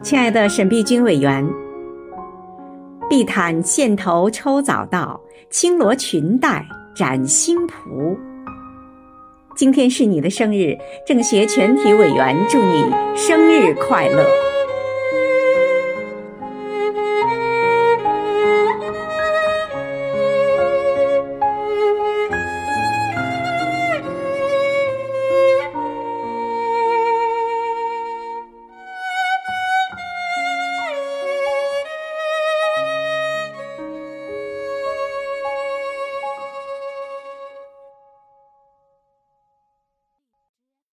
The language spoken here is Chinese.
亲爱的沈碧君委员，碧潭线头抽早稻，轻罗裙带展新蒲。今天是你的生日，政协全体委员祝你生日快乐。